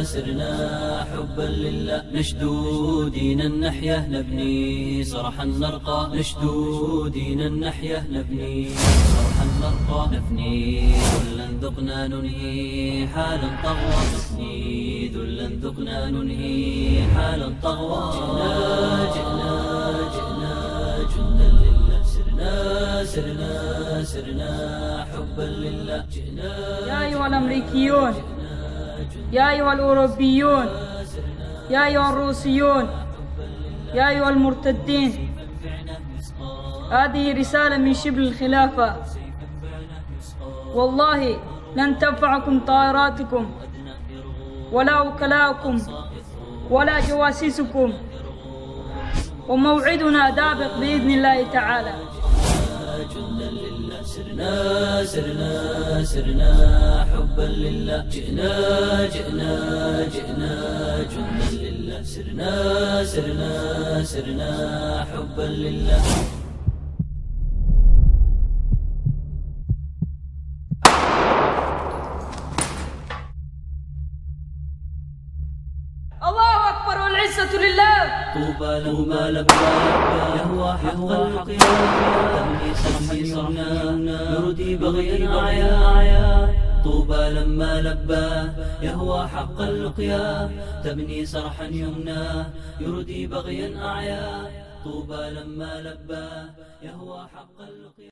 سرنا حبا لله نشدو دينا نحيا نبني صرحا نرقى نشدو دينا نحيا نبني صرحا نرقى نفني ذلا ذقنا ننهي حالا طغوى نفني ذلا ذقنا ننهي حالا طغوى جئنا جندا لله سرنا حبا لله يا أيها الأمريكيون، يا أيها الأوروبيون، يا أيها الروسيون، يا أيها المرتدين، هذه رسالة من شبل الخلافة. والله لن تنفعكم طائراتكم ولا وكلاؤكم ولا جواسيسكم، وموعدنا دابق بإذن الله تعالى. سرنا حبا لله جئنا جندا لله سرنا حبا لله. الله أكبر والعزة لله. طوبى لما لبى يهوى حق تمني صرحا يردي بغيا أعيا. طوبى لما لبى يهوى حق اللقيا تبني صرحا يمنى يردي بغيا أعيا. طوبى لما لبى يهوى حق اللقيا.